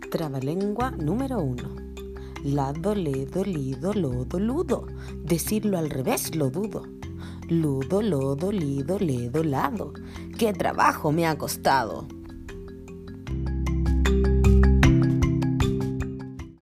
Trabalengua número 1. Lado, ledo, lido, lodo, ludo. Decirlo al revés lo dudo. Ludo, lodo, lido, ledo, lado. ¡Qué trabajo me ha costado!